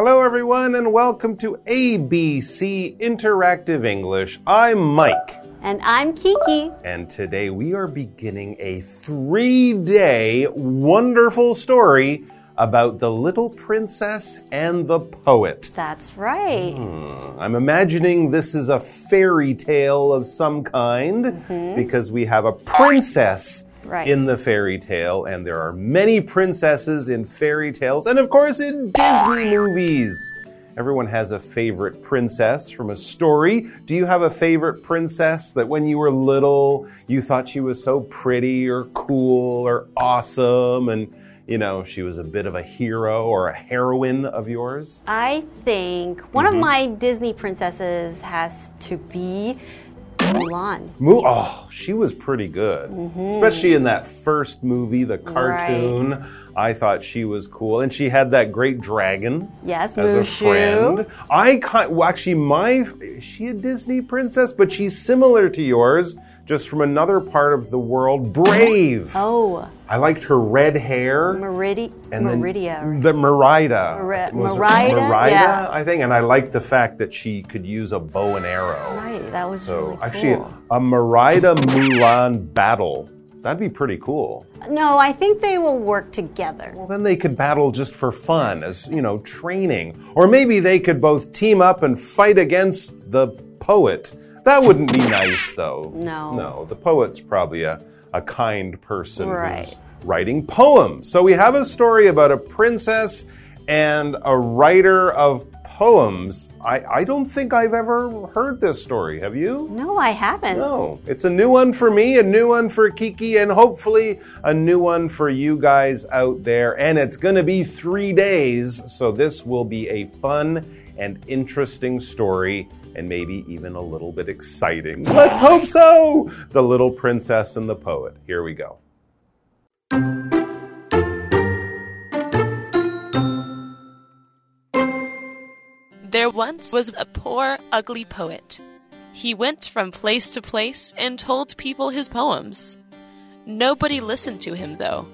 Hello, everyone, and welcome to ABC Interactive English. I'm Mike. And I'm Kiki. And today we are beginning a 3-day wonderful story about the little princess and the poet. That's right. I'm imagining this is a fairy tale of some kind because we have a princess in the fairy tale, and there are many princesses in fairy tales, and of course in Disney movies. Everyone has a favorite princess from a story. Do you have a favorite princess that when you were little, you thought she was so pretty or cool or awesome, and you know, she was a bit of a hero or a heroine of yours? I think one of my Disney princesses has to be Mulan. Oh, she was pretty good. Especially in that first movie, the cartoon. Right. I thought she was cool. And she had that great dragon as a friend. Is she a Disney princess? But she's similar to yours, just from another part of the world. Brave. Oh. I liked her red hair. Merida. Merida, yeah. I think. And I liked the fact that she could use a bow and arrow. Right, that was really cool. Actually, a Merida Mulan battle. That'd be pretty cool. No, I think they will work together. Well, then they could battle just for fun, as, you know, training. Or maybe they could both team up and fight against the poet. That wouldn't be nice, though. No, the poet's probably a kind person who's writing poems. So we have a story about a princess and a writer of poems. I don't think I've ever heard this story. Have you? No, I haven't. No. It's a new one for me, a new one for Kiki, and hopefully a new one for you guys out there. And it's going to be 3 days, so this will be a fun and interesting story, and maybe even a little bit exciting. Let's hope so! The Little Princess and the Poet. Here we go. There once was a poor, ugly poet. He went from place to place and told people his poems. Nobody listened to him, though.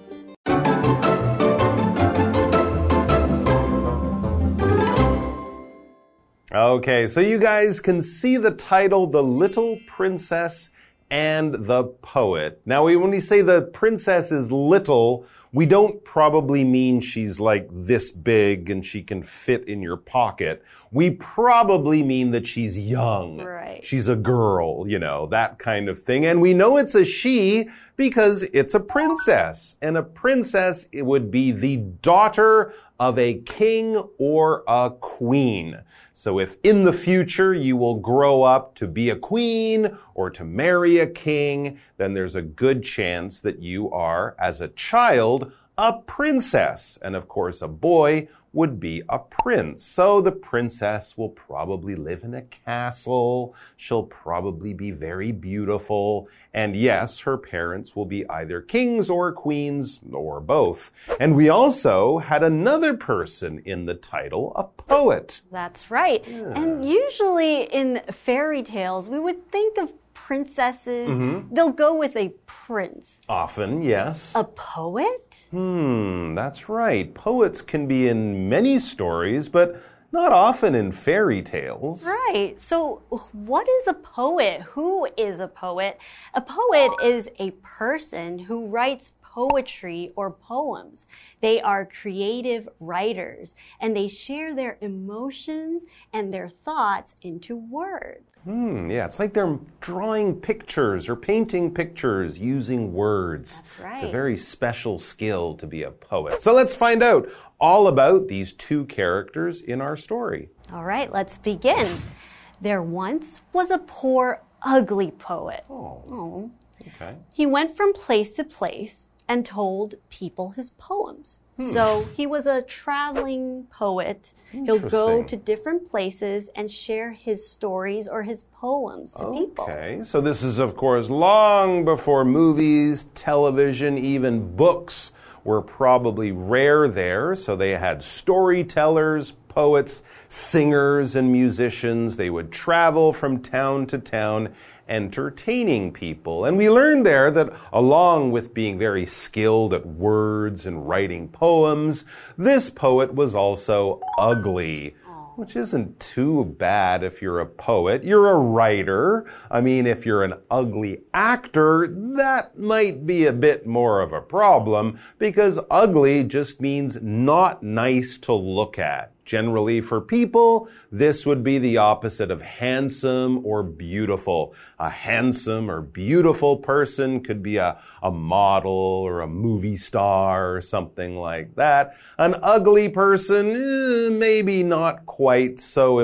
Okay, so you guys can see the title, The Little Princess and the Poet. Now, when we say the princess is little, we don't probably mean she's like this big and she can fit in your pocket. We probably mean that she's young. Right. She's a girl, you know, that kind of thing. And we know it's a she because it's a princess. And a princess, it would be the daughter of a king or a queen. So if in the future you will grow up to be a queen or to marry a king, then there's a good chance that you are, as a child, a princess. And of course, a boy would be a prince. So the princess will probably live in a castle. She'll probably be very beautiful. And yes, her parents will be either kings or queens or both. And we also had another person in the title, a poet. That's right. Yeah. And usually in fairy tales, we would think of princesses, they'll go with a prince. Often, yes. A poet? That's right. Poets can be in many stories, but not often in fairy tales. Right. So what is a poet? Who is a poet? A poet is a person who writes poetry or poems. They are creative writers, and they share their emotions and their thoughts into words. Yeah, it's like they're drawing pictures or painting pictures using words. That's right. It's a very special skill to be a poet. So let's find out all about these two characters in our story. All right, let's begin. There once was a poor, ugly poet. Oh. Okay. He went from place to place and told people his poems. So he was a traveling poet. He'll go to different places and share his stories or his poems to people. Okay, so this is, of course, long before movies, television, even books were probably rare there. So they had storytellers, poets, singers, and musicians. They would travel from town to town entertaining people. And we learned there that along with being very skilled at words and writing poems, this poet was also ugly. Which isn't too bad if you're a poet. You're a writer. I mean, if you're an ugly actor, that might be a bit more of a problem because ugly just means not nice to look at. Generally, for people, this would be the opposite of handsome or beautiful. A handsome or beautiful person could be a model or a movie star or something like that. An ugly person, maybe not quite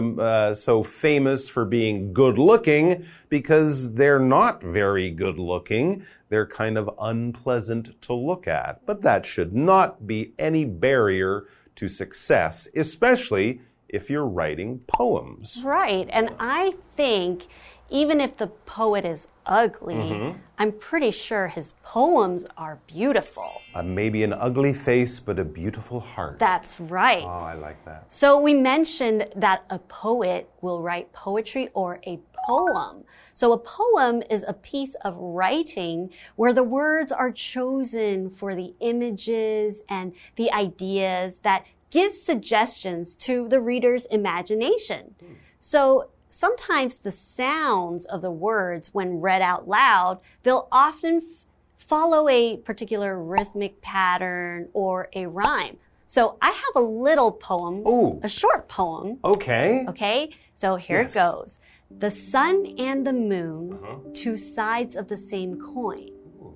so famous for being good looking because they're not very good looking. They're kind of unpleasant to look at. But that should not be any barrier to success, especially if you're writing poems. Right. And I think even if the poet is ugly, I'm pretty sure his poems are beautiful. Maybe an ugly face, but a beautiful heart. That's right. Oh, I like that. So we mentioned that a poet will write poetry or a poem. So a poem is a piece of writing where the words are chosen for the images and the ideas that give suggestions to the reader's imagination. So sometimes the sounds of the words, when read out loud, they'll often follow a particular rhythmic pattern or a rhyme. So I have a little poem, a short poem. Okay. Okay, so here it goes. The sun and the moon, two sides of the same coin.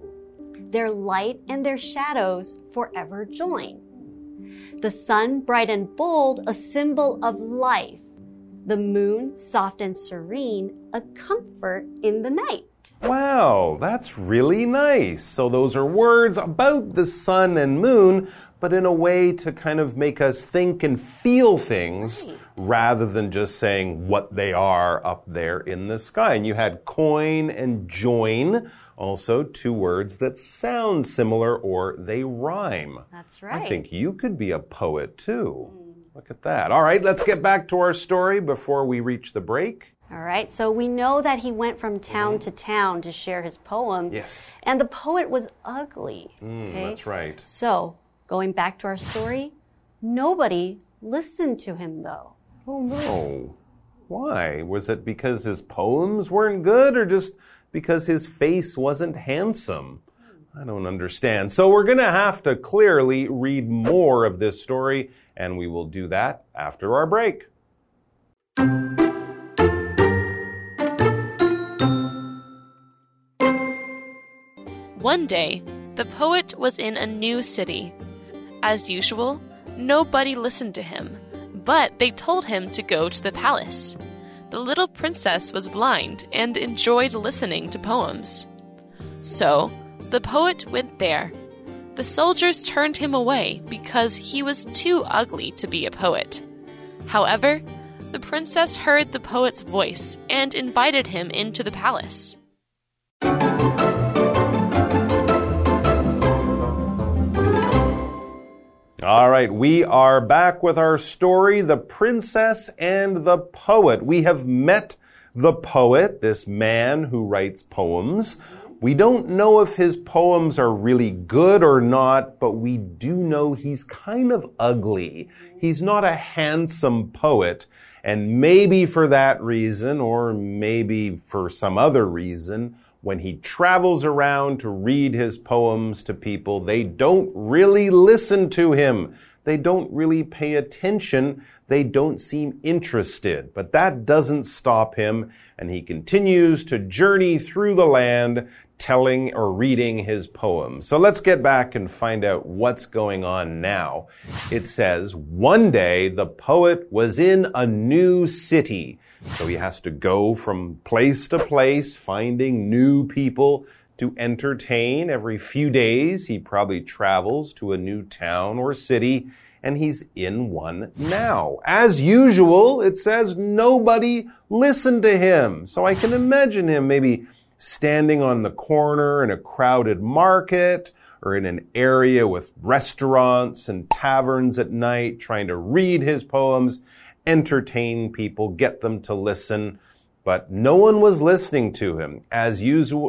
Their light and their shadows forever join. The sun, bright and bold, a symbol of life. The moon, soft and serene, a comfort in the night. Wow, that's really nice. So those are words about the sun and moon, but in a way to kind of make us think and feel things rather than just saying what they are up there in the sky. And you had coin and join, also two words that sound similar or they rhyme. That's right. I think you could be a poet too. Look at that. All right, let's get back to our story before we reach the break. All right, so we know that he went from town to town to share his poem. Yes. And the poet was ugly. That's right. So, going back to our story, nobody listened to him though. Oh no. Why? Was it because his poems weren't good or just because his face wasn't handsome? I don't understand. So we're going to have to clearly read more of this story, and we will do that after our break. One day, the poet was in a new city. As usual, nobody listened to him, but they told him to go to the palace. The little princess was blind and enjoyed listening to poems. So, the poet went there. The soldiers turned him away because he was too ugly to be a poet. However, the princess heard the poet's voice and invited him into the palace. All right, we are back with our story, The Princess and the Poet. We have met the poet, this man who writes poems. We don't know if his poems are really good or not, but we do know he's kind of ugly. He's not a handsome poet, and maybe for that reason, or maybe for some other reason, when he travels around to read his poems to people, they don't really listen to him. They don't really pay attention. They don't seem interested. But that doesn't stop him, and he continues to journey through the land telling or reading his poems. So let's get back and find out what's going on now. It says, one day the poet was in a new city. So he has to go from place to place, finding new people to entertain. Every few days, he probably travels to a new town or city, and he's in one now. As usual, it says nobody listened to him. So I can imagine him maybe standing on the corner in a crowded market or in an area with restaurants and taverns at night, trying to read his poems, entertain people, get them to listen. But no one was listening to him. As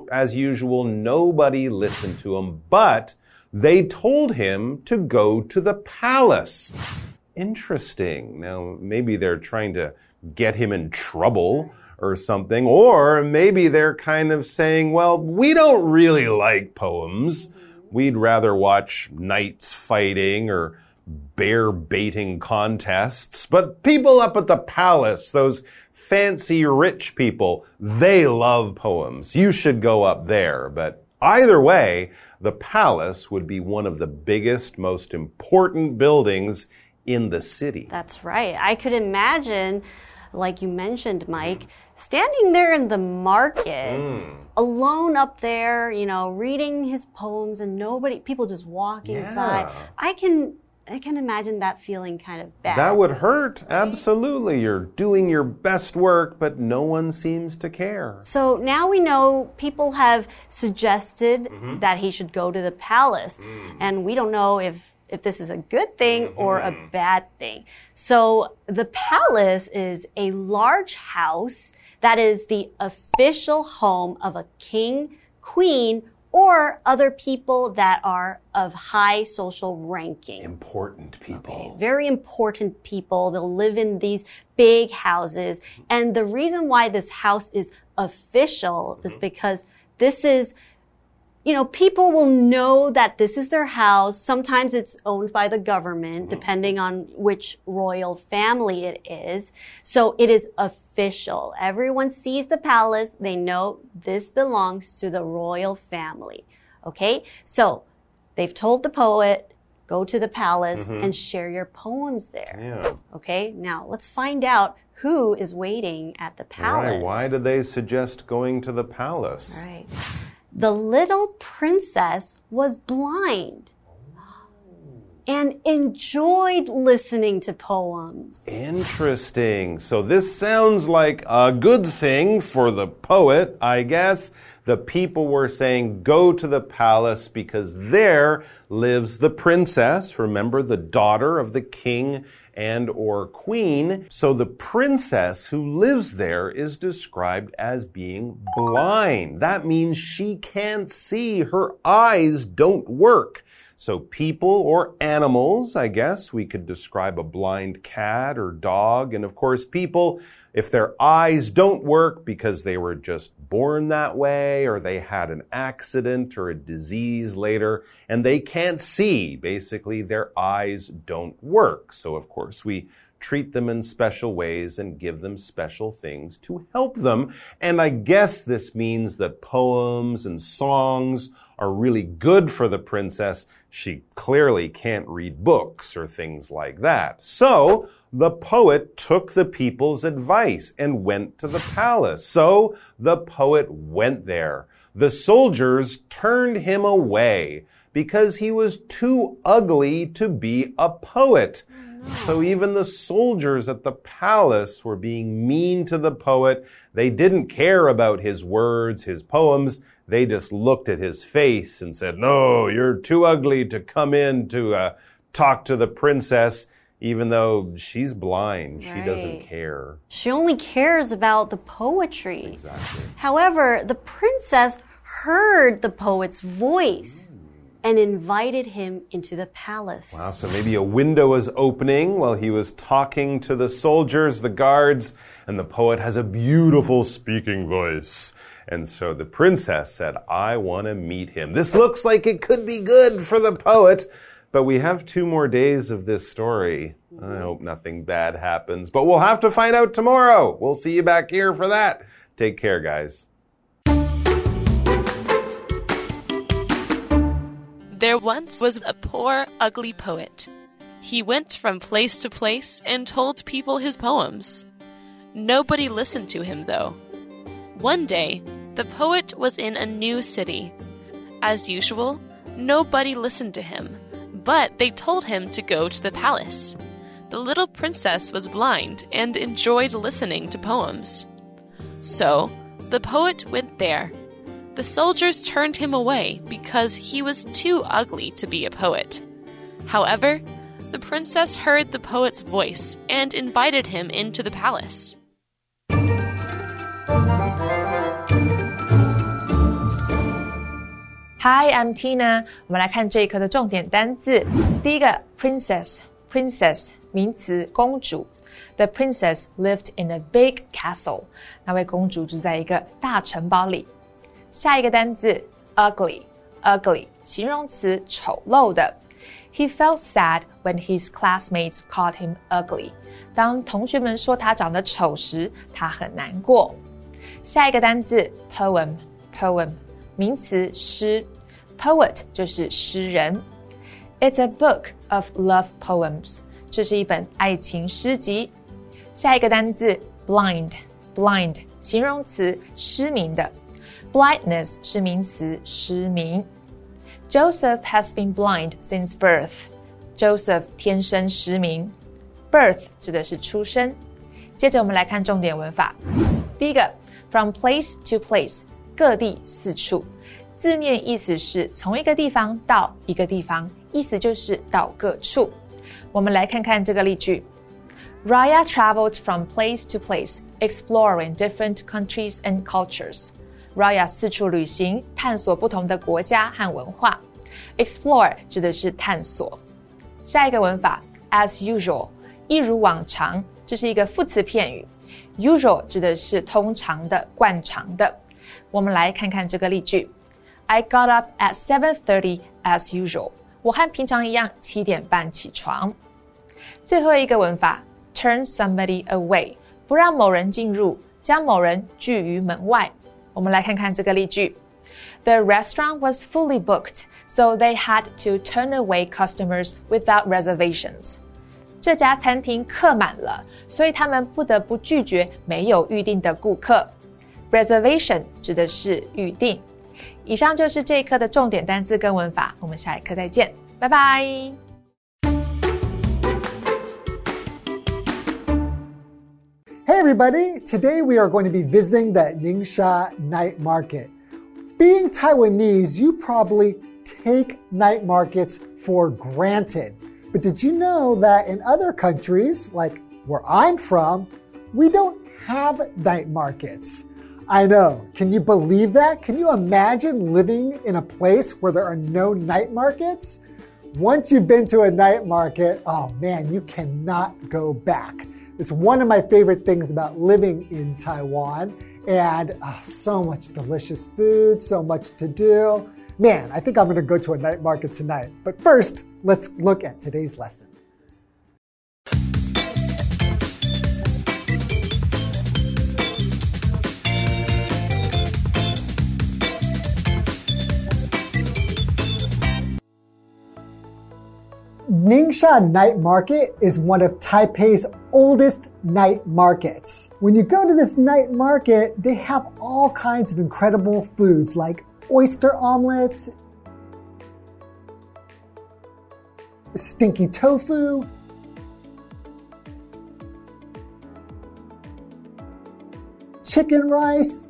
usual, nobody listened to him, but they told him to go to the palace. Interesting. Now, maybe they're trying to get him in trouble or something, or maybe they're kind of saying, well, we don't really like poems. We'd rather watch knights fighting or bear baiting contests. But people up at the palace, those fancy rich people, they love poems. You should go up there. But either way, the palace would be one of the biggest, most important buildings in the city. That's right. I could imagine, like you mentioned, Mike, standing there in the market, alone up there, you know, reading his poems and people just walking by. I can imagine that feeling kind of bad. That would hurt. Absolutely. You're doing your best work, but no one seems to care. So now we know people have suggested that he should go to the palace. And we don't know if this is a good thing or a bad thing. So the palace is a large house that is the official home of a king, queen, or other people that are of high social ranking. Important people. Okay, very important people. They'll live in these big houses. And the reason why this house is official is because this is, you know, people will know that this is their house. Sometimes it's owned by the government, depending on which royal family it is. So it is official. Everyone sees the palace. They know this belongs to the royal family. Okay? So they've told the poet, go to the palace and share your poems there. Yeah. Okay? Now let's find out who is waiting at the palace. Right. Why did they suggest going to the palace? Right. The little princess was blind and enjoyed listening to poems. Interesting. So this sounds like a good thing for the poet, I guess. The people were saying, go to the palace because there lives the princess. Remember, the daughter of the king and or queen. So the princess who lives there is described as being blind. That means she can't see. Her eyes don't work. So people or animals, I guess, we could describe a blind cat or dog. And of course, people, if their eyes don't work because they were just born that way or they had an accident or a disease later and they can't see, basically their eyes don't work. So of course, we treat them in special ways and give them special things to help them. And I guess this means that poems and songs are really good for the princess. She clearly can't read books or things like that. So the poet took the people's advice and went to the palace. So the poet went there. The soldiers turned him away because he was too ugly to be a poet. So even the soldiers at the palace were being mean to the poet. They didn't care about his words, his poems. They just looked at his face and said, no, you're too ugly to come in to talk to the princess, even though she's blind. She doesn't care. She only cares about the poetry. Exactly. However, the princess heard the poet's voice and invited him into the palace. Wow, so maybe a window was opening while he was talking to the soldiers, the guards, and the poet has a beautiful speaking voice. And so the princess said, I want to meet him. This looks like it could be good for the poet, but we have 2 more days of this story. I hope nothing bad happens, but we'll have to find out tomorrow. We'll see you back here for that. Take care, guys. There once was a poor, ugly poet. He went from place to place and told people his poems. Nobody listened to him, though. One day, the poet was in a new city. As usual, nobody listened to him, but they told him to go to the palace. The little princess was blind and enjoyed listening to poems. So, the poet went there. The soldiers turned him away because he was too ugly to be a poet. However, the princess heard the poet's voice and invited him into the palace. Hi, I'm Tina. 我們來看這一課的重點單字。第一個 princess 名詞公主。The princess lived in a big castle. 那位公主住在一個大城堡裡。下一個單字 ugly 形容詞醜陋的。He felt sad when his classmates called him ugly. 當同學們說他長得醜時，他很難過。下一個單字 poem 名詞詩。Poet 就是詩人。It's a book of love poems. 這是一本愛情詩集。下一個單字 blind 形容詞失明的。Blindness 是名詞失明。Joseph has been blind since birth. Joseph 天生失明。Birth 指的是出生。接着我們來看重點文法。第一個 from place to place 各地四處。字面意思是從一個地方到一個地方，意思就是到各處。我們來看看這個例句。Raya traveled from place to place, exploring different countries and cultures. Raya 四處旅行，探索不同的國家和文化。Explore 指的是探索。下一個文法 as usual 一如往常，這是一個副詞片語。Usual 指的是通常的、慣常的。我們來看看這個例句。I got up at 7:30 as usual. 我和平常一樣7點半起床。最後一個文法 turn somebody away 不讓某人進入，將某人拒於門外。我們來看看這個例句。The restaurant was fully booked, so they had to turn away customers without reservations. 這家餐廳客滿了，所以他們不得不拒絕沒有預定的顧客。Reservation 指的是預定。以上就是這一課的重點單字跟文法，我們下一課再見，拜拜。 Hey everybody, today we are going to be visiting the Ningxia Night Market. Being Taiwanese, you probably take night markets for granted. But did you know that in other countries, like where I'm from, we don't have night markets? I know. Can you believe that? Can you imagine living in a place where there are no night markets? Once you've been to a night market, oh man, you cannot go back. It's one of my favorite things about living in Taiwan, and so much delicious food, so much to do. Man, I think I'm going to go to a night market tonight. But first, let's look at today's lesson. Ningxia Night Market is one of Taipei's oldest night markets. When you go to this night market, they have all kinds of incredible foods like oyster omelets, stinky tofu, chicken rice,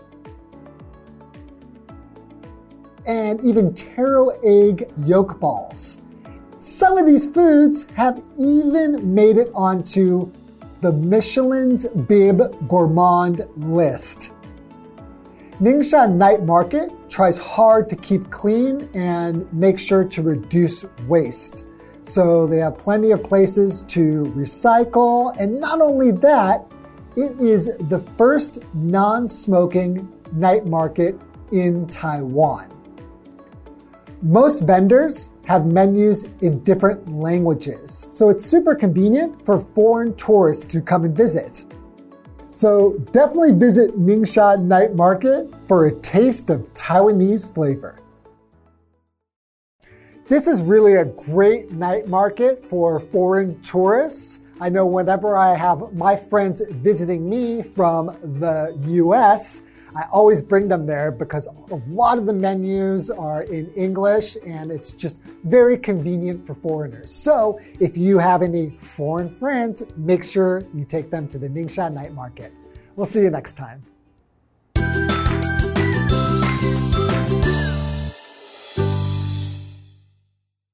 and even taro egg yolk balls. Some of these foods have even made it onto the Michelin's Bib Gourmand list. Ningxia Night Market tries hard to keep clean and make sure to reduce waste. So they have plenty of places to recycle, and not only that, it is the first non-smoking night market in Taiwan. Most vendors have menus in different languages, so it's super convenient for foreign tourists to come and visit. So definitely visit Ningxia Night Market for a taste of Taiwanese flavor. This is really a great night market for foreign tourists. I know whenever I have my friends visiting me from the US, I always bring them there because a lot of the menus are in English and it's just very convenient for foreigners. So if you have any foreign friends, make sure you take them to the Ningxia Night Market. We'll see you next time.